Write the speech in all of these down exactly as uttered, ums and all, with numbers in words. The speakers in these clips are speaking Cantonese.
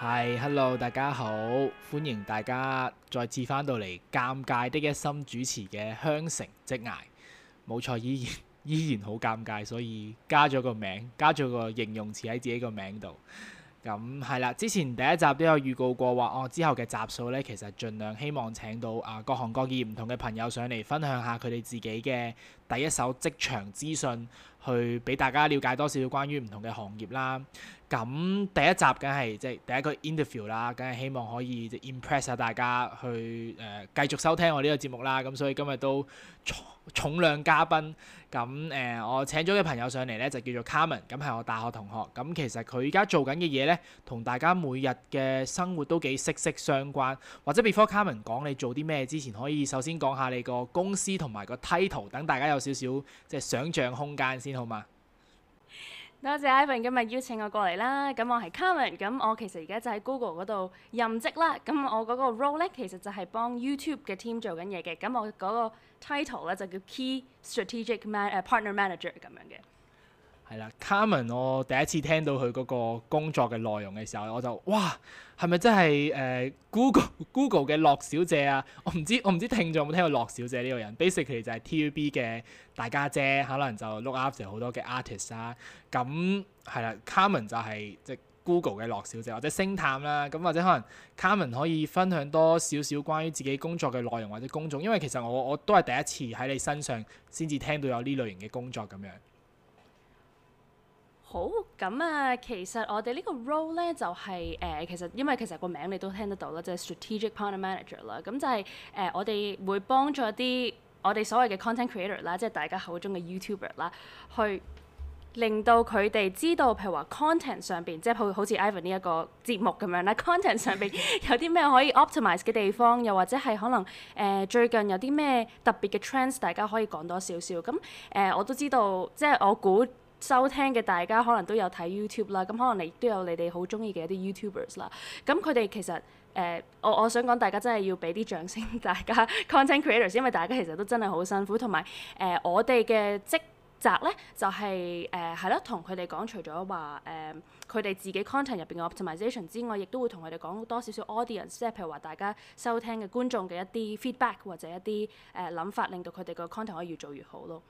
係，Hello，大家好，歡迎大家再次翻到嚟尷尬的一心主持嘅香城職涯。冇錯，依然依然好尷尬，所以加咗個名，加咗個形容詞喺自己個名度。咁係啦，之前第一集都有預告過話，哦之後嘅集數呢，其實盡量希望請到啊各行各業唔同嘅朋友上嚟分享下佢哋自己嘅第一手職場資訊，去俾大家了解多少少關於唔同嘅行業啦。咁第一集梗係即係第一個 interview 啦，梗係希望可以即 impress 下大家去誒、呃、繼續收聽我呢個節目啦。咁所以今日都重重量嘉賓。咁誒、呃，我請咗嘅朋友上嚟咧就叫做 Carmen，咁係我大學同學。咁其實佢而家做緊嘅嘢咧，同大家每日嘅生活都幾息息相關。或者 before Carmen 講你做啲咩之前，可以首先講下你個公司同埋個 title，等大家有少少即係想像空間先，好嘛？ 多謝 Ivan 今日邀請我過嚟啦。咁我係 Carmen，咁我其實而家就喺 Google 嗰度任職啦。咁我嗰個 role 咧，其實就係幫 YouTube 嘅 team 做緊嘢嘅。咁我嗰個 title 咧就叫 Key Strategic Man 誒 Partner Manager 咁樣嘅。 係啦，Carmen，我第一次聽到佢嗰個工作嘅內容嘅時候，我就哇，係咪真係誒、呃、Google Google 嘅樂小姐啊？我唔知我唔知聽眾有冇聽過樂小姐呢個人 ？Basically 就係 T V B 嘅大家姐，可能就 look after 好多嘅 artist 啦。咁係啦，Carmen 就係即係 Google 嘅樂小姐或者星探啦。咁或者可能 Carmen 可以分享多少少關於自己工作嘅內容或者工種，因為其實我我都係第一次喺你身上先至聽到有呢類型嘅工作咁樣。 好，咁啊，其實我哋呢個 role 咧就係、是、誒、呃，其實因為其實個名你都聽得到啦，就係、是、strategic partner manager 啦。咁就係、是、誒、呃，我哋會幫助一啲我哋所謂嘅 content creator 啦，即係大家口中嘅 YouTuber 啦，去令到佢哋知道，譬如話 content 上邊，即係好好似 Ivan 呢一個節目咁樣啦，content 上邊有啲咩可以 optimize 嘅地方，又或者係可能誒、呃、最近有啲咩特別嘅 trends，大家可以講多少少。咁誒、呃，我都知道，即係我估。收聽嘅大家可能都有睇 YouTube 啦，咁可能你都有你哋好中意嘅一啲 YouTubers 啦。咁佢哋其實誒、呃，我我想講大家真係要俾啲掌聲，大家 content creators，因為大家其實都真係好辛苦，同埋誒我哋嘅職責咧就係誒係咯，同佢哋講除咗話誒佢哋自己 content 入邊嘅 optimization 之外，亦都會同佢哋講多少少 audience，即係譬如話大家收聽嘅觀眾嘅一啲 feedback 或者一啲誒諗法，令到佢哋個 content 可以越做越好咯。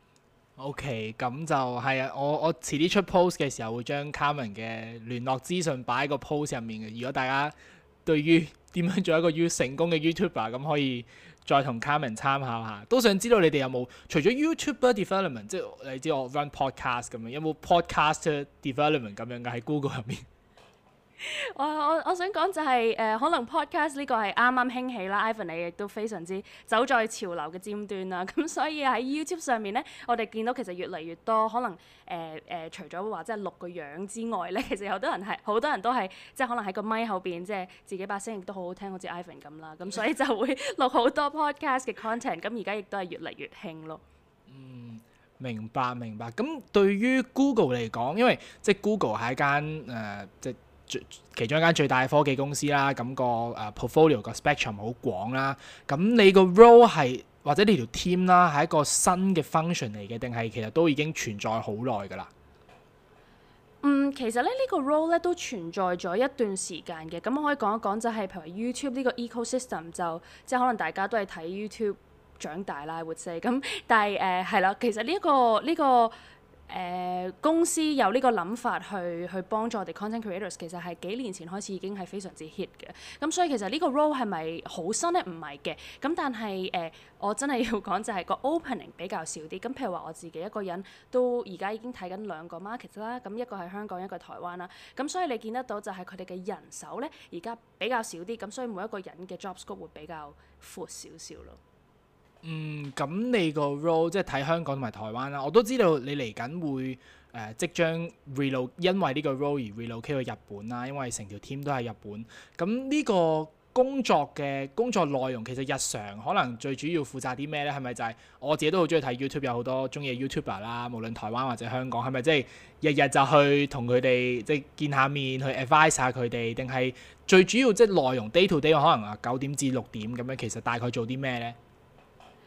OK，咁就係啊！我我遲啲出 post 嘅時候會將 Carmen 嘅聯絡資訊擺喺個 post 入面嘅。如果大家對於點樣做一個 U 成功嘅 YouTuber，咁可以再同 Carmen 參考下。都想知道你哋有冇除咗 YouTuber development，即係你知我 run podcast 咁樣，有冇 podcast development 咁樣嘅喺 Google 入面？ 我我我想講就係、是、誒、呃，可能 podcast 呢個係啱啱興起啦。Ivan 你亦都非常之走在潮流嘅尖端啦。咁所以喺 YouTube 上面咧，我哋見到其實越嚟越多可能誒誒、呃呃，除咗話即係錄個樣之外咧，其實有好多人係好多人都係即係可能喺個咪後邊，即係自己把聲亦都好好聽，好似 Ivan 咁啦。咁所以就會錄好多 podcast 嘅 content。咁而家亦都係越嚟越興咯。 嗯，明白明白。咁對於 Google 嚟講，因為即係 Google 係一間誒、呃、即係。其中一間最大嘅科技公司啦，咁、那個誒、uh, portfolio 個 spectrum 好廣啦。咁你個 role 係或者你條 team 啦，係一個新嘅 function 嚟嘅，定係其實都已經存在好耐㗎啦？ 嗯，其實咧呢、這個 role 咧都存在咗一段時間嘅。咁我可以講一講就係、是、譬如 YouTube 呢個 ecosystem 就即係可能大家都係睇 YouTube 長大啦，活世咁。但係誒係啦，其實呢、這、一個呢、這個。誒、呃、公司有呢個諗法去去幫助我哋 content creators，其實係幾年前開始已經係非常之 hit 嘅。咁所以其實呢個 role 係咪好新咧？唔係嘅。咁但係誒、呃，我真係要講就係個 opening 比較少啲。咁譬如話我自己一個人都而家已經睇緊兩個 market 啦。咁一個係香港，一個係台灣啦。咁所以你見得到就係佢哋嘅人手咧，而家比較少啲。咁所以每一個人嘅 job scope 會比較闊少少咯。 嗯，咁你個 role 即係睇香港同埋台灣啦，我都知道你嚟緊會誒、呃、即將 relocate，因為呢個 role 而 relocate 去日本啦，因為成條 team 都係日本。咁呢個工作嘅工作內容其實日常可能最主要負責啲咩咧？係咪就係、是、我自己都好中意睇 YouTube，有好多中意嘅 YouTuber 啦，無論台灣或者香港，係咪即係日日就去同佢哋即係見下面，去 advise 下佢哋，定係最主要即係內容 day to day 可能啊九點至六點咁樣，其實大概做啲咩咧？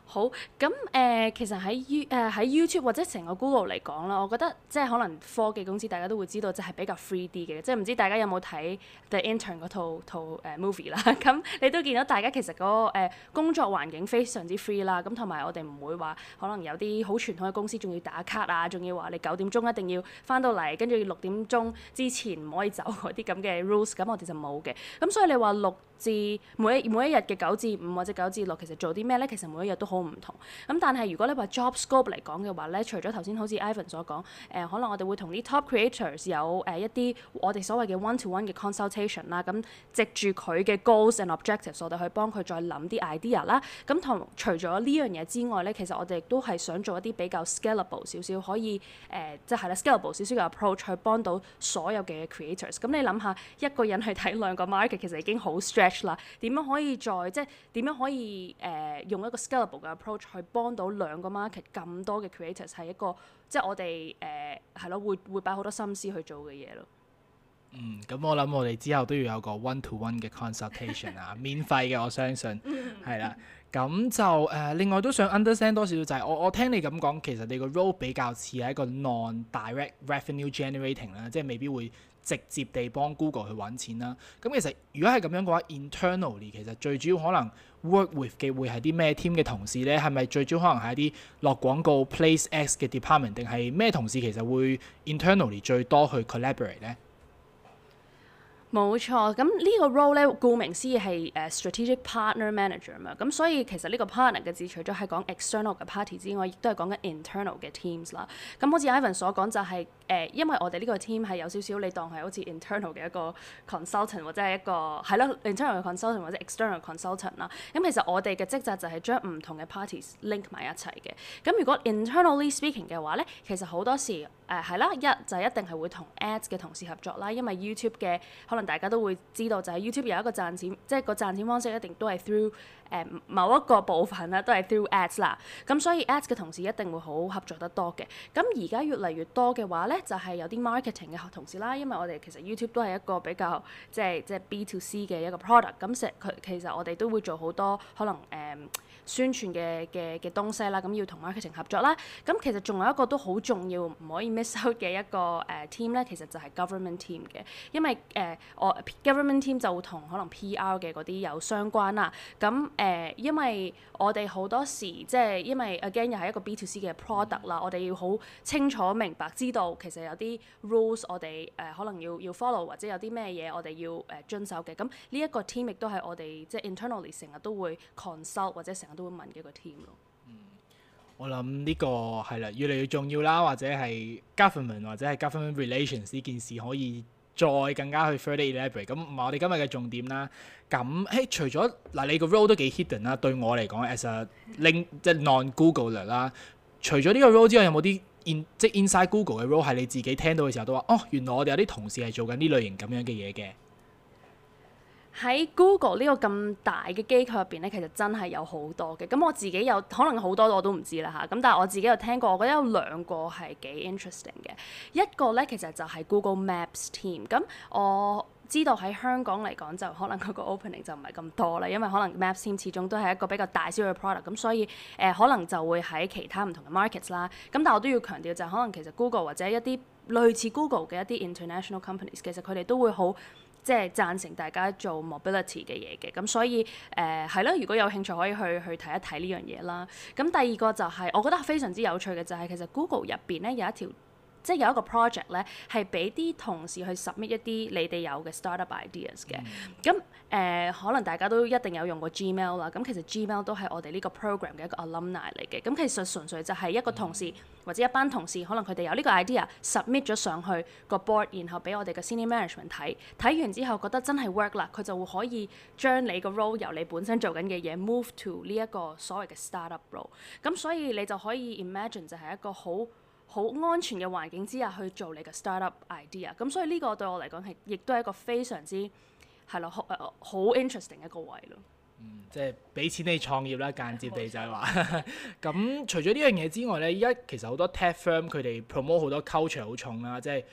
好，咁誒、呃，其實喺 U 誒、呃、喺 YouTube 或者成個 Google 嚟講啦，我覺得即係可能科技公司大家都會知道，就係比較 free 啲嘅，即係唔知大家有冇睇 The Intern 嗰套套誒、呃、movie 啦？咁你都見到大家其實嗰、那個、呃、工作環境非常之 free 啦，咁同埋我哋唔會話可能有啲好傳統嘅公司仲要打卡啊，仲要話你九點鐘一定要翻到嚟，跟住六點鐘之前唔可以走嗰啲咁嘅 rules，咁我哋就冇嘅。咁所以你話六至每一每一日嘅九至五或者九至六，其實做啲咩咧？其實每一日都好唔同。咁但係如果你話 job scope 嚟講嘅話咧，除咗頭先好似 Ivan 所講，誒、呃、可能我哋會同啲 top creators 有誒、呃、一啲我哋所謂嘅 one to one 嘅 consultation 啦。咁藉住佢嘅 goals and objectives，我哋去幫佢再諗啲 idea 啦。咁同除咗呢樣嘢之外咧，其實我哋亦都係想做一啲比較 scalable 少少，可以誒即係啦 scalable 少少嘅 approach 去幫到所有嘅 creators。咁你諗下一個人去睇兩個 market，其實已經好 stretch 啦。點樣可以再即係點樣可以誒、呃、用一個 scalable 嘅 approach 去幫到兩個 market 咁多嘅 creators， 係一個即係我哋誒係咯，會會擺好多心思去做嘅嘢咯。 嗯，咁我諗我哋之後都要有個 one to one 嘅 consultation 啊，免費嘅我相信係啦。咁就誒、呃、另外都想 understand 多少少就係、是、我我聽你咁講，其實你個 role 比較似係一個 non-direct revenue generating 啦，即係未必會直接地幫 Google 去揾錢啦。咁其實如果係咁樣嘅話 ，internally 其實最主要可能 work with 嘅會係啲咩 team 嘅同事咧？係咪最主要可能係一啲落廣告 place ads 嘅 department， 定係咩同事其實會 internally 最多去 collaborate 咧？ 冇錯，咁呢個 role 咧，顧名思義係誒 strategic partner manager 嘛，咁所以其實呢個 partner 嘅字除咗係講 external 嘅 party 之外，亦都係講緊 internal 嘅 teams 啦。咁好似 Ivan 所講就係、是、誒、呃，因為我哋呢個 team 係有少少你當係好似 internal 嘅一個 consultant 或者係一個係咯 internal 嘅 consultant 或者 external consultant 啦。咁其實我哋嘅職責就係將唔同嘅 parties link 埋一齊嘅。咁如果 internally speaking 嘅話咧，其實好多時誒係、呃、啦，一就係一定係會同 ads 嘅同事合作啦，因為 YouTube 嘅可能大家都會知道，就係 YouTube 有一個賺錢，即係個賺錢方式一定都係 through 誒、呃、某一個部分啦，都係 through ads 啦。咁所以 ads 嘅同事一定會好合作得多嘅。咁而家越嚟越多嘅話咧，就係、是、有啲 marketing 嘅同事啦，因為我哋其實 YouTube 都係一個比較即係即係 B to C 嘅一個 product。咁成佢其實我哋都會做好多可能誒、呃、宣傳嘅嘅嘅東西啦。咁要同 marketing 合作啦。咁其實仲有一個都好重要，唔可以 miss out 嘅一個誒、呃、team 咧，其實就係 government team 嘅，因為誒、呃、我。Government team 就會同可能 P R 嘅嗰啲有相關啦。咁誒、呃，因為我哋好多時即係因為 again 又係一個 B to C 嘅 product 啦，我哋要好清楚明白知道其實有啲 rules 我哋誒、呃、可能要要 follow，或者有啲咩嘢我哋要誒、呃、遵守嘅。咁呢一個 team 亦都係我哋即係 internally 成日都會 consult 或者成日都會問嘅一個 team 咯。 嗯，我諗呢個係啦，越嚟越重要啦，或者係 government 或者係 government relations 呢件事可以再更加去 further elaborate，咁唔係我哋今日嘅重點啦。咁誒，除咗嗱，你個 role 都幾 hidden 啦，對我嚟講 as a link 即係 non-Googler 啦。除咗呢個 role 之外，有冇啲 in 即係 inside Google 嘅 role 係你自己聽到嘅時候都話，哦，原來我哋有啲同事係做緊呢類型咁樣嘅嘢嘅？ 喺 Google 呢個咁大嘅機構入邊咧，其實真係有好多嘅。咁我自己有可能好多我都唔知啦嚇。咁但係我自己有聽過，我覺得有兩個係幾 interesting 嘅。一個咧其實就係 Google Maps team。咁我知道喺香港嚟講就可能嗰個 opening 就唔係咁多啦，因為可能 Maps team 始終都係一個比較大小嘅 product。咁所以誒、呃、可能就會喺其他唔同嘅 markets 啦。咁但係我都要強調就係可能其實 Google 或者一啲類似 Google 嘅一啲 international companies， 其實佢哋都會好即係贊成大家做 mobility 嘅嘢嘅，咁所以誒係咯，如果有興趣可以去去睇一睇呢樣嘢啦。咁第二個就係、是、我覺得非常之有趣嘅就係、是、其實 Google 入邊咧有一條即係有一個 project 咧係俾啲同事去 submit 一啲你哋有嘅 startup ideas 嘅。咁誒、呃、可能大家都一定有用過 Gmail 啦。咁其實 Gmail 都係我哋呢個 program 嘅一個 alumni 嚟嘅。咁其實純粹就係一個同事或者一班同事，可能佢哋有呢個 idea submit 咗上去個 board， 然後俾我哋嘅 senior management 睇，睇完之後覺得真係 work 啦，佢就會可以將你個 role 由你本身做緊嘅嘢 move to 呢一個所謂嘅 startup role。咁所以你就可以 imagine 就係一個好好安全嘅環境之下去做你嘅 startup idea。咁所以呢個對我嚟講係亦都係一個非常之係咯好好 interesting 一個位咯。 嗯，即係俾錢你創業啦，間接地就係話。咁除咗呢樣嘢之外咧，依家其實好多 tech firm 佢哋 promote 好多 culture 好重啦，即係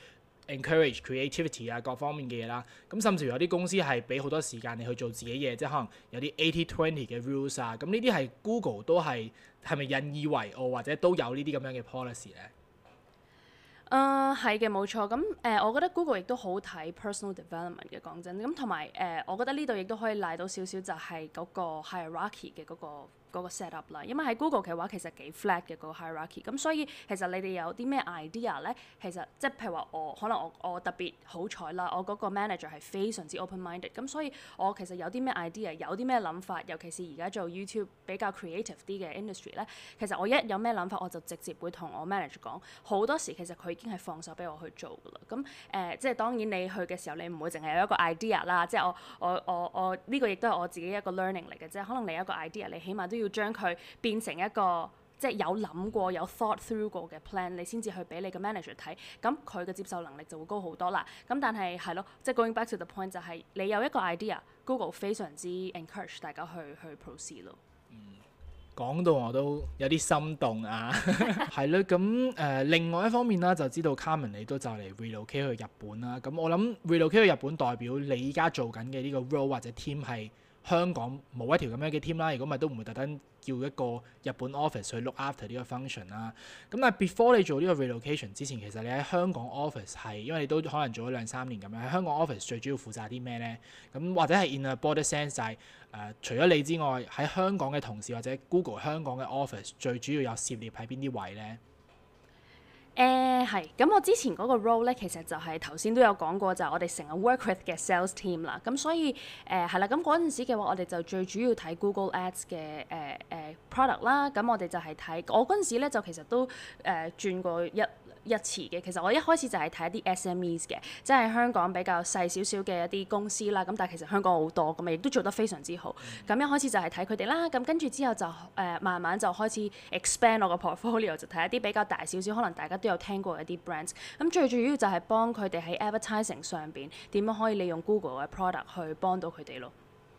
encourage creativity 啊各方面嘅嘢啦。咁甚至乎有啲公司係俾好多時間你去做自己嘢，即係可能有啲 eighty twenty 嘅 rules 啊。咁呢啲係 Google 都係係咪引以為傲，或者都有呢啲咁樣嘅 policy 咧？ 誒係嘅，冇錯。咁誒、呃，我覺得 Google 亦都好睇 personal development 嘅，講真。咁同埋誒，我覺得呢度亦都可以賴到少少，就係嗰個 hierarchy 嘅嗰個嗰個 set up 啦。因為喺 Google 嘅話，其實幾 flat 嘅嗰個 hierarchy。咁所以其實你哋有啲咩 idea 咧？其實即係譬如話我可能我我特別好彩啦，我嗰個 manager 係非常之 open-minded。咁所以我其實有啲咩 idea，有啲咩諗法，尤其是而家做 YouTube 比較 creative 啲嘅 industry 咧，其實我一有咩諗法，我就直接會同我 manager 講。好多時其實佢已經係放手俾我去做㗎啦。咁誒、呃，即係當然你去嘅時候，你唔會淨係有一個 idea 啦。即係我我我我呢、這個亦都係我自己一個 learning 嚟嘅啫。可能你有一個 idea，你起碼都要將佢變成一個即係有諗過、有 thought through 過嘅 plan，你先至去俾你嘅 manager 睇。咁佢嘅接受能力就會高好多啦。咁但係係咯，即係 going back to the point 就係你有一個 idea，Google 非常之 encourage 大家去去 proceed 咯。 講到我都有啲心動啊，係咯，咁誒、呃、另外一方面啦，就知道 Carmen 你都就嚟 relocate 去日本啦，咁我諗 relocate 去日本代表你依家做緊嘅呢個 role 或者 team 係香港冇一條咁樣嘅 team 啦，如果咪都唔會特登叫一個日本 office 去 look after 呢個 function 啦。咁但係 before 你做呢個 relocation 之前，其實你喺香港 office 係，因為你都可能做咗兩三年咁樣，喺香港 office 最主要負責啲咩咧？咁或者係 in a broader sense 就係、是、誒、呃，除咗你之外，喺香港嘅同事或者 Google 香港嘅 office 最主要有涉獵喺邊啲位咧？ 誒係，咁、uh, 我之前嗰個 role 咧，其實就係頭先都有講過，就係我哋成日 work with 嘅 sales team 啦。咁所以誒係啦，咁嗰陣時嘅話，我哋就最主要睇 Google Ads 嘅誒誒 product 啦。咁我哋就係睇，我嗰陣時咧就其實都誒、呃、轉過一一次嘅。其實我一開始就係睇一啲 S M Es 嘅，即係香港比較細少少嘅一啲公司啦。咁但係其實香港好多，咁亦都做得非常之好。咁、嗯、一開始就係睇佢哋啦。咁跟住之後就誒、呃、慢慢就開始 expand 我個 portfolio，就睇一啲比較大少少，可能大家都有聽過一啲 brands。咁最主要就係幫佢哋喺 advertising 上邊點樣可以利用 Google 嘅 product 去幫到佢哋咯。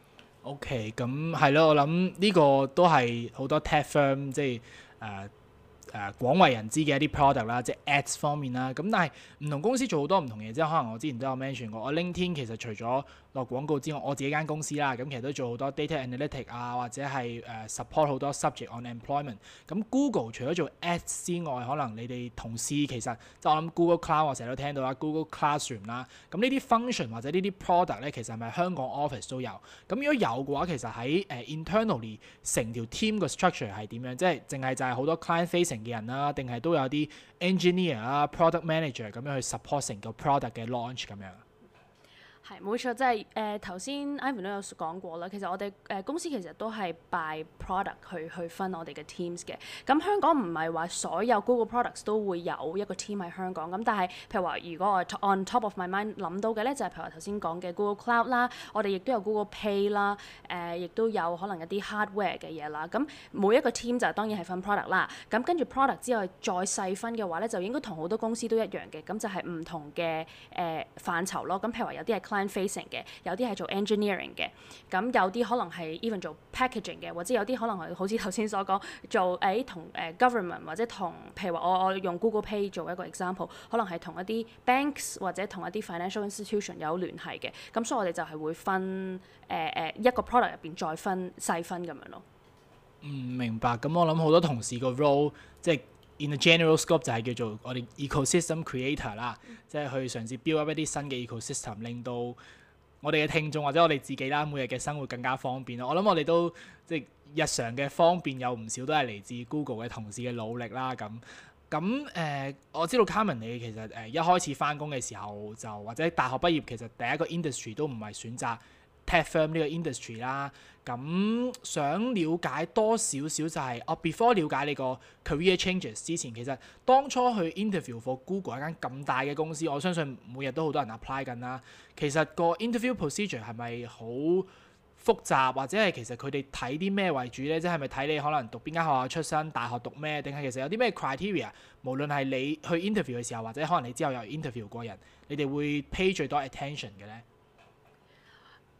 OK，咁係咯，我諗呢個都係好多 tech firm 即係誒。呃誒、呃、廣為人知嘅一啲 product 啦，即係 ads 方面啦。咁但係唔同公司做好多唔同嘢，即係可能我之前都有 mention 過，我 LinkedIn 其實除咗落廣告之外，我自己間公司啦，咁其實都做好多 data analytic 啊，或者係誒、呃、support 好多 subject on employment。咁 Google 除咗做 ads 之外，可能你哋同事其實即係我諗 Google Cloud 我成日都聽到啦，Google Classroom 啦。咁呢啲 function 或者呢啲 product 咧，其實係咪香港 office 都有？咁如果有嘅話，其實喺誒、呃、internally 成條 team 個 structure 係點樣？即係淨係就係好多 client facing 嘅人啦，定係都有啲 engineer 啊、product manager 咁樣去 support 成個 product 嘅 launch 咁樣。 係冇錯，即係誒頭先 Ivan 都有講過啦。其實我哋誒、呃、公司其實都係 by product 去去分我哋嘅 teams 嘅。咁香港唔係話所有 Google products 都會有一個 team 喺香港。咁但係譬如話，如果我 on top of my mind 諗到嘅咧，就係、是、譬如話頭先講嘅 Google Cloud 啦，我哋亦都有 Google Pay 啦，誒、呃、亦都有可能一啲 hardware 嘅嘢啦。咁每一個 team 就當然係分 product 啦。咁跟住 product 之外再細分嘅話咧，就應該同好多公司都一樣嘅。咁就係唔同嘅誒、呃、範疇咯。咁譬如話有啲係facing 嘅，有啲係做 engineering 嘅，咁有啲可能係 even 做 packaging 嘅，或者有啲可能係好似頭先所講做誒同誒 government 或者同譬如話我我用 Google Pay 做一個 example， 可能係同一啲 banks 或者同一啲 financial institution 有聯繫嘅，咁所以我哋就係會分誒誒、呃、一個 product 入邊再分細分咁樣咯。 嗯，明白。咁我諗好多同事個 role 即係 in a general scope 就係叫做我哋 ecosystem creator 啦，嗯、即係去嘗試 build up 一啲新嘅 ecosystem， 令到我哋嘅聽眾或者我哋自己啦，每日嘅生活更加方便咯。我諗我哋都即係日常嘅方便有唔少都係嚟自 Google 嘅同事嘅努力啦。咁咁誒，我知道 Carmen 你其實誒、呃、一開始返工嘅時候就或者大學畢業，其實第一個 industry 都唔係選擇 tech firm 呢個 industry 啦。咁想了解多少少就係、是、哦 before 了解你個 career changes 之前，其實當初去 interview for Google 一間咁大嘅公司，我相信每日都好多人 apply 緊啦。其實個 interview procedure 係咪好複雜，或者係其實佢哋睇啲咩為主咧？即係咪睇你可能讀邊間學校出身，大學讀咩，定係其實有啲咩 criteria？無論係你去 interview 嘅時候，或者可能你之後有 interview 過人，你哋會 pay 最多 attention 嘅咧？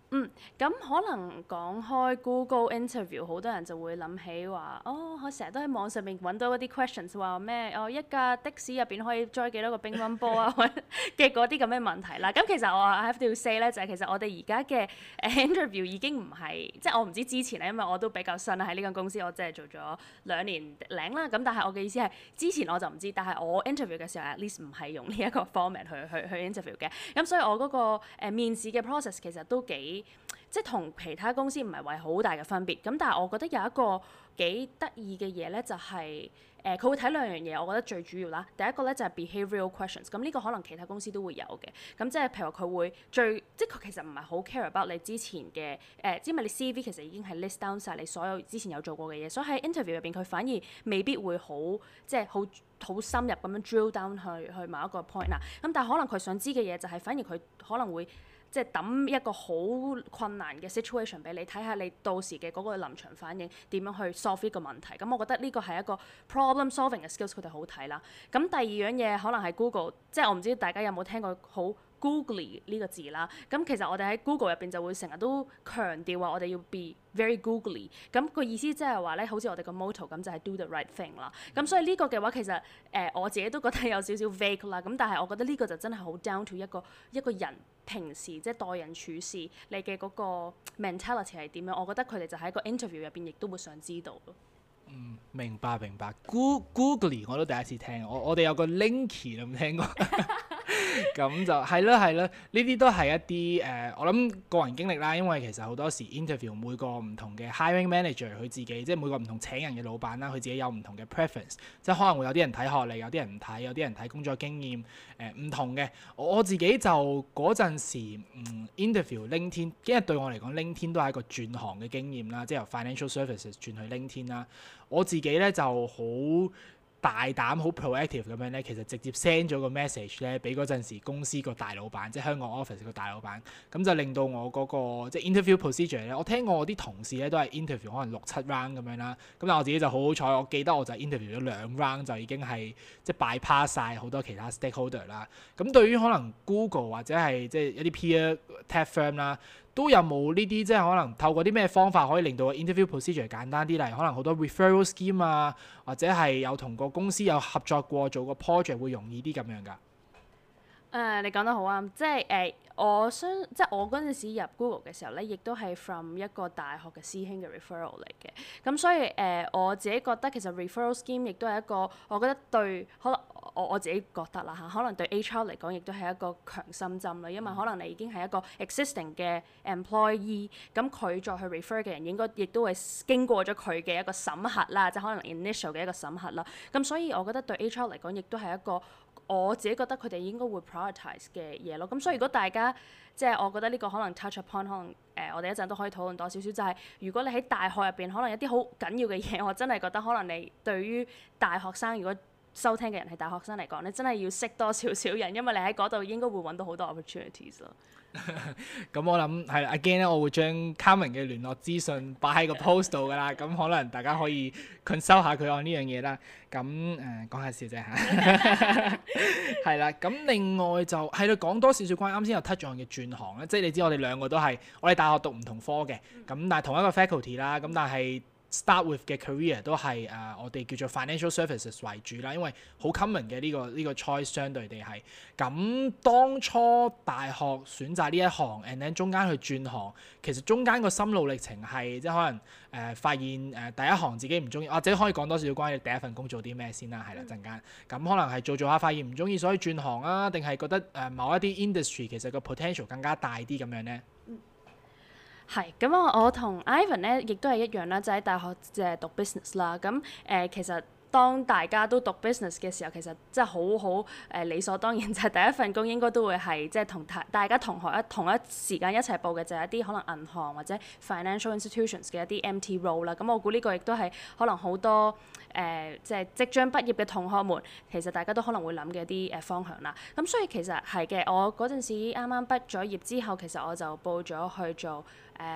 嗯，咁可能講開 Google interview，好多人就會諗起話，哦，我成日都喺網上面揾到嗰啲 questions，話咩？哦，一架的士入邊可以載幾多個乒乓波啊？嘅嗰啲咁嘅問題啦。咁其實我 I have to say 咧，就係其實我哋而家嘅誒 interview 已經唔係，即係我唔知之前咧，因為我都比較新啦，喺呢間公司我即係做咗兩年零啦。咁但係我嘅意思係，之前我就唔知，但係我 interview 嘅時候 at least 唔係用呢一個 format 去去去 interview 嘅。咁所以我嗰個誒面試嘅 process 其實都幾即係同其他公司唔係話好大嘅分別，咁但係我覺得有一個幾得意嘅嘢咧，就係誒佢會睇兩樣嘢，我覺得最主要啦。第一個咧就係 behavioral questions，咁呢個可能其他公司都會有嘅。咁即係譬如話佢會最即係佢其實唔係好 care about 你之前嘅誒、呃，因為你 C V 其實已經係 list down 晒你所有之前有做過嘅嘢，所以喺 interview 入邊佢反而未必會好即係好好深入咁樣 drill down 去去某一個 point 啦。咁但係可能佢想知嘅嘢就係反而佢可能會。即係抌一個好困難嘅 situation 俾你，睇下你到時嘅嗰個臨場反應點樣去 solve 呢個問題。咁我覺得呢個係一個 problem solving 嘅 skills，佢哋好睇啦。咁第二樣嘢可能係 Google，即係我唔知大家有冇聽過好 Googly 呢個字啦。咁其實我哋喺 Google 入邊就會成日都強調話我哋要 be very Googly。咁個意思即係話咧，好似我哋個 motto 咁就係 do the right thing 啦。咁所以呢個嘅話其實誒、呃、我自己都覺得有少少 vague 啦。咁但係我覺得呢個就真係好 down to 一個一個人。平時即係待人處事，你嘅嗰個 mentality 係點樣？我覺得佢哋就喺個 interview 入邊，亦都會想知道咯。 嗯，明白明白。Googly 我都第一次聽，我我哋有個 Linky 你有冇聽過？咁就係啦係啦，呢啲都係一啲誒、呃，我諗個人經歷啦。因為其實好多時 interview 每個唔同嘅 hiring manager 佢自己，即係每個唔同請人嘅老闆啦，佢自己有唔同嘅 preference，即係可能會有啲人睇學歷，有啲人唔睇，有啲人睇工作經驗，誒、呃、唔同嘅。我自己就嗰陣時，嗯 interview LinkedIn，因為對我嚟講 LinkedIn 都係一個轉行嘅經驗啦，即係由 financial services 轉去 LinkedIn 啦。我自己咧就好大膽好 proactive 咁樣咧，其實直接 send 咗個 message 咧，俾嗰陣時公司個大老闆，即係香港 office 個大老闆，咁就令到我嗰、嗰個即係 interview procedure 咧，我聽過我啲同事咧都係 interview 可能六七 round 咁樣啦，咁但係我自己就好好彩，我記得我就 interview 咗兩 round 就已經係即係 bypass 曬好多其他 stakeholder 啦。咁對於可能 Google 或者係即係一啲 peer tech firm 啦，都有冇呢啲即係可能透過啲咩方法可以令到個 interview procedure 簡單啲，例如可能好多 referral scheme 啊，或者係有同個公司有合作過做個 project 會容易啲咁樣㗎。誒、 uh, 你講得好啱，即係誒、uh, 我相即係我嗰陣時入 Google 嘅時候咧，亦都係 from 一個大學嘅師兄嘅 referral 嚟嘅。咁所以誒、uh, 我自己覺得其實 referral scheme 亦都係一個我覺得對可能我我自己覺得啦嚇，可能對 H R 嚟講亦都係一個強心針啦，因為可能你已經係一個 existing 嘅 employee，咁佢再去 refer 嘅人應該亦都會經過咗佢嘅一個審核啦，即係可能 initial 嘅一個審核啦。咁所以我覺得對 H R 嚟講亦都係一個我自己覺得佢哋應該會 prioritize 嘅嘢咯。咁所以如果大家即係我覺得呢個可能 touch upon 可能誒、呃、我哋一陣都可以討論多少少，就係、是、如果你喺大學入邊可能有啲好緊要嘅嘢，我真係覺得可能你對於大學生如果收聽嘅人係大學生嚟講咧，真係要識多少少人，因為你喺嗰度應該會揾到好多 opportunities 咯。 咁我諗係啦 again 咧，我會將 Carmen 嘅聯絡資訊擺喺個 post 度㗎啦。咁可能大家可以 consult 下佢按呢樣嘢啦。咁誒講下笑啫嚇。係啦，咁另外就係咯，講多少少關於啱先有 touch on 嘅轉行咧，即係你知我哋兩個都係我哋大學讀唔同科嘅，咁但係同一個 faculty 啦，咁但係start with 嘅 career 都係誒、uh, 我哋叫做 financial services 為主啦，因為好 common 嘅呢、這個呢、這個 choice 相對地係咁。當初大學選擇呢一行 and then 中間去轉行，其實中間個心路歷程係即係可能誒、呃、發現誒、呃、第一行自己唔中意，或者可以講多少少關於第一份工做啲咩先啦，係啦陣間咁可能係做做下發現唔中意，所以轉行啊，定係覺得誒、呃、某一啲 industry 其實個 potential 更加大啲咁樣咧？ 係，咁我我同 Ivan 咧，亦都係一樣啦，就喺大學即係讀 business 啦。咁誒、呃，其實當大家都讀 business 嘅時候，其實即係好好誒理所當然，就係第一份工應該都會係即係同大大家同學一同一時間一齊報嘅，就係一啲可能銀行或者 financial institutions 嘅一啲 M T role 啦。咁我估呢個亦都係可能好多誒、呃、即係即將畢業嘅同學們，其實大家都可能會諗嘅一啲誒方向啦。咁所以其實係嘅，我嗰陣時啱啱畢咗業之後，其實我就報咗去做誒、呃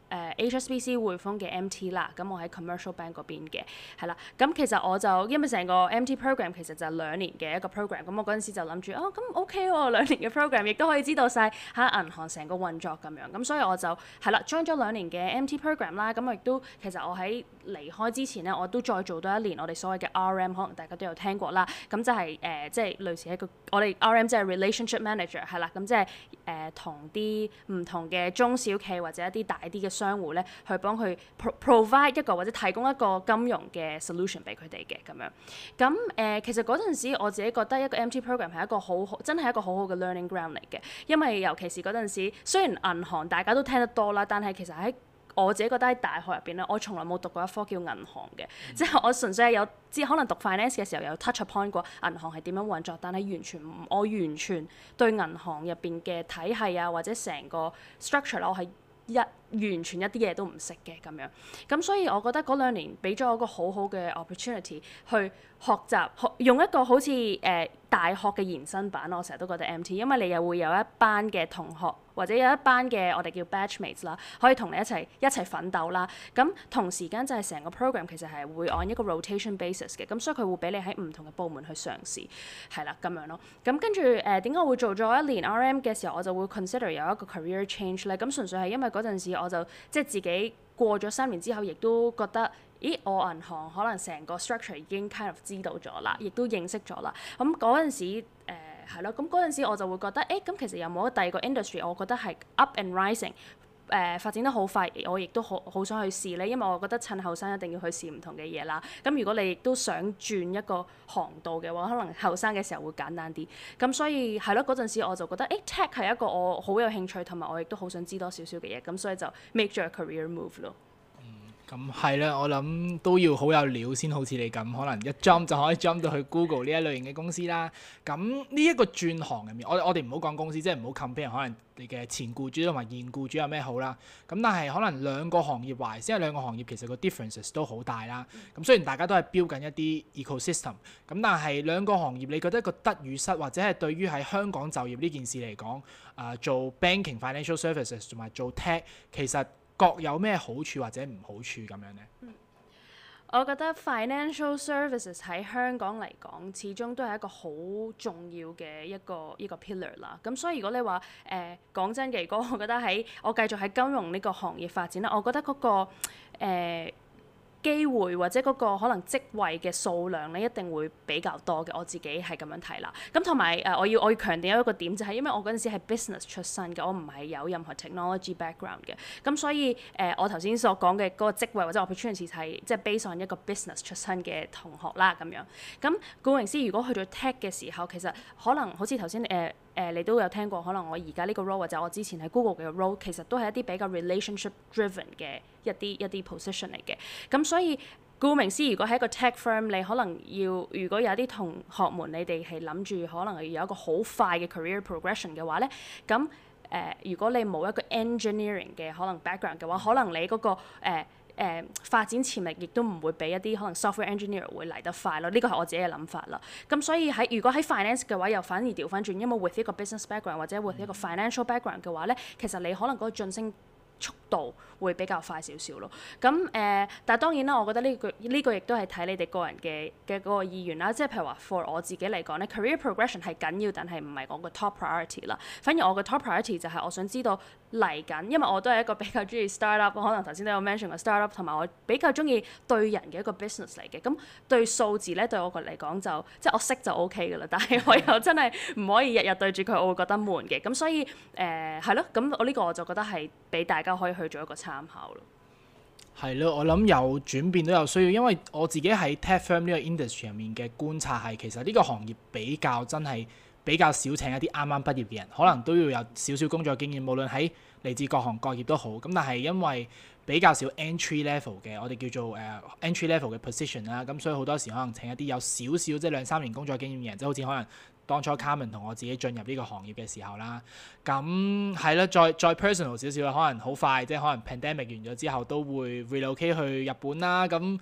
誒 H S B C 匯豐嘅 M T 啦，咁我喺 Commercial Bank 嗰邊嘅，係啦。咁其實我就因為成個 M T program 其實就係兩年嘅一個 program，咁我嗰陣時就諗住哦，咁 OK 喎，兩年嘅 program 亦都可以知道晒喺銀行成個運作咁樣，咁所以我就係啦 join 咗兩年嘅 M T program 啦，咁我亦都其實我喺離開之前咧，我都再做多一年我哋所謂嘅 R M， 可能大家都有聽過啦，咁就係、是、誒、呃、即係類似一個我哋 R M 即係 relationship manager 係啦，咁即係誒同啲唔同嘅中小企或者一啲大啲嘅商戶咧，去幫佢 pro provide 一個或者提供一個金融嘅 solution 俾佢哋嘅咁樣。咁誒、呃、其實嗰陣時我自己覺得一個 M T program 係一個好好真係一個好好嘅 learning ground 嚟嘅，因為尤其是嗰陣時雖然銀行大家都聽得多啦，但係其實喺我自己覺得喺大學入邊咧，我從來冇讀過一科叫銀行嘅，嗯、即係我純粹係有知可能讀 finance 嘅時候有 touch upon 過銀行係點樣運作，但係完全唔我完全對銀行入邊嘅體系啊或者成個 structure 咧，我係一完全一啲嘢都唔識嘅咁樣，咁所以我覺得嗰兩年俾咗我一個好好嘅 opportunity 去學習，學用一個好似誒、呃、大學嘅延伸版，我成日都覺得 M T， 因為你又會有一班嘅同學或者有一班嘅我哋叫 batchmates 啦，可以同你一齊一齊奮鬥啦。咁同時間就係成個 program 其實係會按一個 rotation basis 嘅，咁所以佢會俾你喺唔同嘅部門去嘗試，係啦咁樣咯。咁跟住誒點解我會做咗一年 R M 嘅時候，我就會 consider 有一個 career change 咧？咁純粹係因為嗰陣時我就即係自己過咗三年之後，亦都覺得，咦，我銀行可能成個 structure 已經 kind of 知道咗啦，亦都認識咗啦。咁嗰陣時誒係咯，咁嗰陣時我就會覺得，誒咁其實有冇第二個 industry，我覺得係 up and rising，誒、呃、發展得好快，我亦都好好想去試咧，因為我覺得趁後生一定要去試唔同嘅嘢啦。咁如果你亦都想轉一個航道嘅話，可能後生嘅時候會簡單啲。咁所以係咯，嗰陣時我就覺得，誒 tech 係一個我好有興趣，同埋我亦都好想知多少少嘅嘢，咁所以就 make 咗個 career move 咯。 咁係啦，我諗都要好有料先，好似你咁，可能一 jump 就可以 jump 到去 Google 呢一類型嘅公司啦。咁呢一個轉行入面，我我哋唔好講公司，即係唔好 compare 可能你嘅前僱主同埋現僱主有咩好啦。咁但係可能兩個行業壞，即係兩個行業其實個 differences 都好大啦。咁雖然大家都係標緊一啲 ecosystem，咁但係兩個行業你覺得個得與失，或者係對於喺香港就業呢件事嚟講，啊、呃、做 banking financial services 同埋做 tech 其實各有咩好處或者唔好處咁樣呢？嗯， 我覺得 financial services 喺香港嚟講，始終都係一個好重要嘅一個一個 pillar 啦。咁所以如果你話誒講真嘅，如果我覺得喺我繼續喺金融呢個行業發展咧，我覺得嗰、嗰個誒、呃機會或者嗰個可能職位嘅數量咧，一定會比較多嘅。我自己係咁樣睇啦。咁同埋誒，我要我要強調一個點，就係因為我嗰陣時係 business 出身嘅，我唔係有任何 technology background 嘅。咁所以誒、呃，我頭先所講嘅嗰個職位或者 opportunity 係即係 based on 一個 business 出身嘅同學啦咁樣。咁顧名思義，如果去到 tech 嘅時候，其實可能好似頭先誒。呃誒、呃，你都有聽過，可能我而家呢個 role 或者我之前喺 Google 嘅 role，其實都係一啲比較 relationship driven 嘅一啲一啲 position 嚟嘅。咁所以顧名思義，如果喺一個 tech firm，你可能要如果有啲同學們，你哋係諗住可能要有一個好快嘅 career progression 嘅話咧，咁誒、呃，如果你冇一個 engineering 嘅可能 background 嘅話，可能你嗰、那個誒。呃誒、呃、發展潛力亦都唔會比一啲可能 software engineer 會嚟得快咯，呢個係我自己嘅諗法啦。咁所以喺如果喺 finance 嘅話，又反而調翻轉，因為 with 一個 business background 或者 with 一個 financial background 嘅話咧，其實你可能嗰個晉升速度會比較快少少咯。咁誒、呃，但係當然啦，我覺得呢個呢個亦都係睇你哋個人嘅嘅嗰個意願啦。即係譬如話 for 我自己嚟講咧 career progression 係緊要，但係唔係我個 top priority 啦。反而我個 top priority 就係我想知道嚟緊，因為我都係一個比較中意 startup，可能頭先都有 mention 過 startup， 同埋我比較中意對人嘅一個 business 嚟嘅。咁對數字咧，對我個嚟講就即係我識就 OK 㗎啦。但係我又真係唔可以日日對住佢，我會覺得悶嘅。咁所以誒係咯，咁、呃、我呢個我就覺得係俾大家可以去做一個參考咯。 係咯，我諗有轉變都有需要，因為我自己喺 tech firm 呢個 industry 入面嘅觀察係，其實呢個行業比較真係比較少請一啲啱啱畢業嘅人，可能都要有少少工作經驗，無論喺嚟自各行各業都好。咁但係因為比較少 entry level 嘅，我哋叫做誒、uh, entry level 嘅 position 啦，咁所以好多時可能請一啲有少少即係兩三年工作經驗嘅人，即係好似可能當初 Carmen 同我自己進入呢個行業嘅時候啦，咁係啦，再再 personal 少少啦，可能好快即係可能 pandemic 完咗之後都會 relocate 去日本啦，咁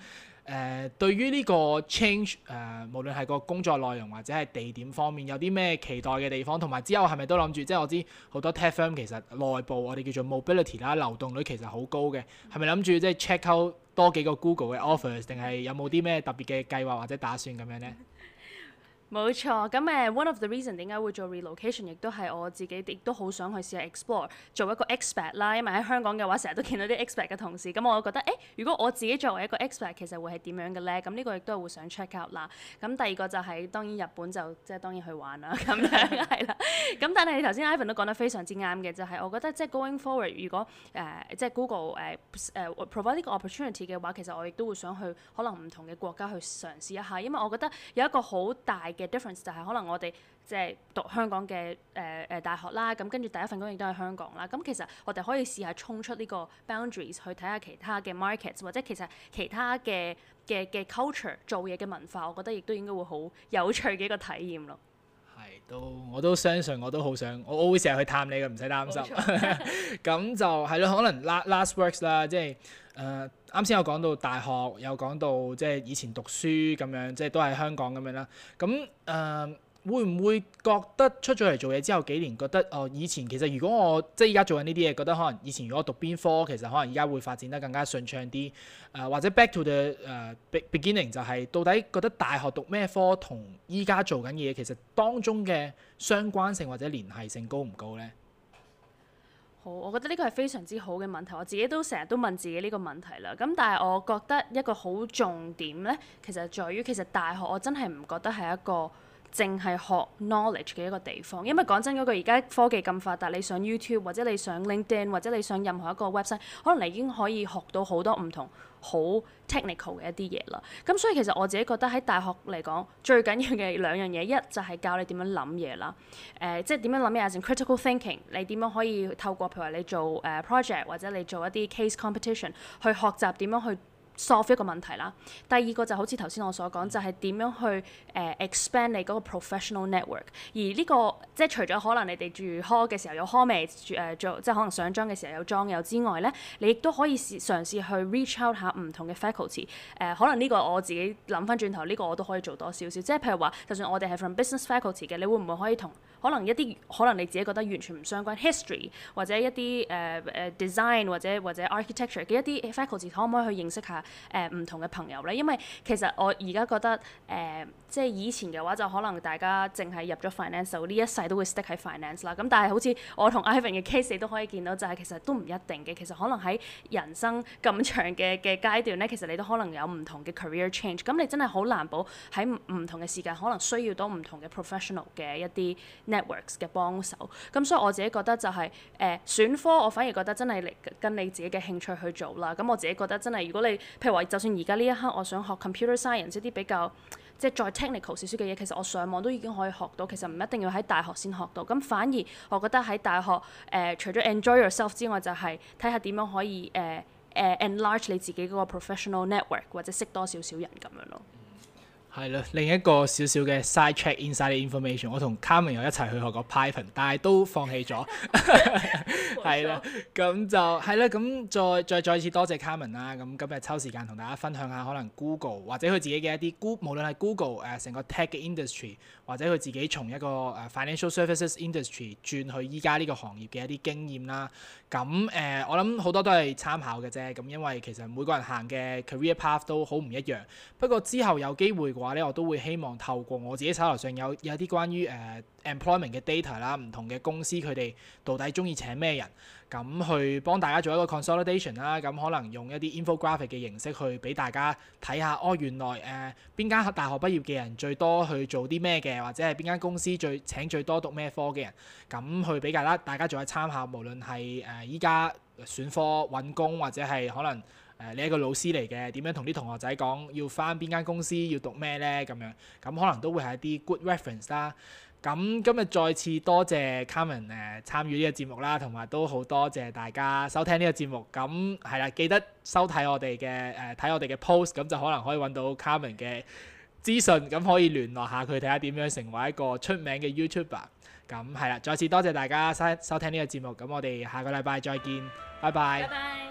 誒對於呢個 change 誒、呃，無論係個工作內容或者係地點方面，有啲咩期待嘅地方，同埋之後係咪都諗住，即係我知好多 tech firm 其實內部我哋叫做 mobility 啦，流動率其實好高嘅，係咪諗住即係 check out 多幾個 Google 嘅 offers，定係有冇啲咩特別嘅計劃或者打算咁樣咧？ 冇錯，咁誒 one of the reason 點解會做 relocation，亦都係我自己亦都好想去試下 explore 做一個 expat 啦，因為喺香港嘅話，成日都見到啲 expat 嘅同事，咁我覺得誒，如果我自己作為一個 expat，其實會係點樣嘅咧？咁呢個亦都係會想 check out 啦。咁第二個就係、是、當然日本就即係當然去玩啦，咁樣係啦。咁但係你頭先 Ivan 都講得非常之啱嘅，就係、是、我覺得即係 going forward，如果誒、呃、即係 Google 誒、呃、誒、呃、provide 呢個 opportunity 嘅話，其實我亦都會想去可能唔同嘅國家去嘗試一下，因為我覺得有一個好大嘅 difference 就係可能我哋即係讀香港嘅誒誒大學啦，咁跟住第一份工亦都係香港啦。咁其實我哋可以試下衝出呢個 boundaries 去睇下其他嘅 markets，或者其實其他嘅嘅嘅 culture 做嘢嘅文化，我覺得亦都應該會好有趣嘅一個體驗咯。 係，都我都相信，我都好想，我我會成日去探你嘅，唔使擔心。咁就係咯，可能 last works 啦，即係誒啱先有講到大學，有講到即係以前讀書咁樣，即係都係香港咁樣啦。咁誒。呃會唔會覺得出咗嚟做嘢之後幾年，覺得哦以前其實如果我即係而家做緊呢啲嘢，覺得可能以前如果我讀邊科，其實可能而家會發展得更加順暢啲。誒、呃、或者 back to the 誒、uh, beginning 就係到底覺得大學讀咩科同依家做緊嘅嘢，其實當中嘅相關性或者聯繫性高唔高咧？ 好，我覺得呢個係非常之好嘅問題，我自己都成日都問自己呢個問題啦。咁但係我覺得一個好重點咧，其實在於其實大學我真係唔覺得係一個淨係學 knowledge 嘅一個地方，因為講真嗰句，而家科技咁發達，你上 YouTube 或者你上 LinkedIn 或者你上任何一個 website，可能你已經可以學到好多唔同好 technical 嘅一啲嘢啦。咁所以其實我自己覺得喺大學嚟講，最緊要嘅兩樣嘢，一就係教你點樣諗嘢啦，誒、呃、即係點樣諗嘢 as in critical thinking，你點樣可以透過譬如話你做誒、uh, project 或者你做一啲 case competition 去學習點樣去solve 一個問題啦。第二個就好似頭先我所講，就係、是、點樣去誒、uh, expand 你嗰個 professional network。而呢、這個即係除咗可能你哋住 hall 嘅時候有 hallmate 誒、呃、做，即係可能上莊嘅時候有莊友之外咧，你亦都可以試嘗試去 reach out 下唔同嘅 faculty。誒、呃、可能呢個我自己諗翻轉頭，呢、這個我都可以做多少少。即係譬如話，就算我哋係 from business faculty 嘅，你會唔會可以同可能一啲可能你自己覺得完全唔相關 history 或者一啲誒誒 design 或者或者 architecture 嘅一啲 faculty，可唔可以去認識下？誒唔、呃、同嘅朋友咧，因為其實我而家覺得誒、呃，即係以前嘅話就可能大家淨係入咗 finance，就呢一世都會 stick 喺 finance 啦。咁但係好似我同 Ivan 嘅 case，你都可以見到就係其實都唔一定嘅。其實可能喺人生咁長嘅嘅階段咧，其實你都可能有唔同嘅 career change。咁你真係好難保喺唔同嘅時間，可能需要到唔同嘅 professional 嘅一啲 networks 嘅幫手。咁所以我自己覺得就係、是、誒、呃、選科，我反而覺得真係嚟跟你自己嘅興趣去做啦。咁我自己覺得真係如果你譬如話，就算而家呢一刻我想學 computer science 一啲比較即係再 technical 少少嘅嘢，其實我上網都已經可以學到，其實唔一定要喺大學先學到。咁反而我覺得喺大學誒、呃，除咗 enjoy yourself 之外，就係睇下點樣可以誒誒、呃呃、enlarge 你自己嗰個 professional network，或者識多少少人咁樣咯。 係咯，另一個少少嘅 side check inside information，我同 Carmen 又一齊去學過 Python， 但係都放棄咗。係啦，咁就係啦，咁再再再次多謝 Carmen 啦。咁今日抽時間同大家分享下可能 Google 或者佢自己嘅一啲 Google，無論係 Google 誒、呃、成個 tech 嘅 industry，或者佢自己從一個誒、呃、financial services industry 轉去依家呢個行業嘅一啲經驗啦。咁誒、呃，我諗好多都係參考嘅啫。咁因為其實每個人行嘅 career path 都好唔一樣。不過之後有機會嘅話咧，我都會希望透過我自己手頭上有有啲關於誒、呃、employment 嘅 data 啦，唔同嘅公司佢哋到底中意請咩人，咁去幫大家做一個 consolidation 啦。咁可能用一啲 infographic 嘅形式去俾大家睇下，哦原來誒邊間大學畢業嘅人最多去做啲咩嘅，或者係邊間公司最請最多讀咩科嘅人，咁去俾大家大家做一參考。無論係誒依家選科揾工，或者係可能。誒、呃，你係一個老師嚟嘅，點樣同啲同學仔講要返邊間公司，要讀咩咧？咁樣咁可能都會係一啲 good reference 啦。咁今日再次多謝 Carmen 誒、呃、參與呢個節目啦，同埋都好多謝大家收聽呢個節目。咁係啦，記得收睇我哋嘅誒睇我哋嘅 post，咁就可能可以揾到 Carmen 嘅資訊，咁可以聯絡下佢睇下點樣成為一個出名嘅 YouTuber。咁係啦，再次多謝大家收收聽呢個節目。咁我哋下個禮拜再見，拜拜。拜拜。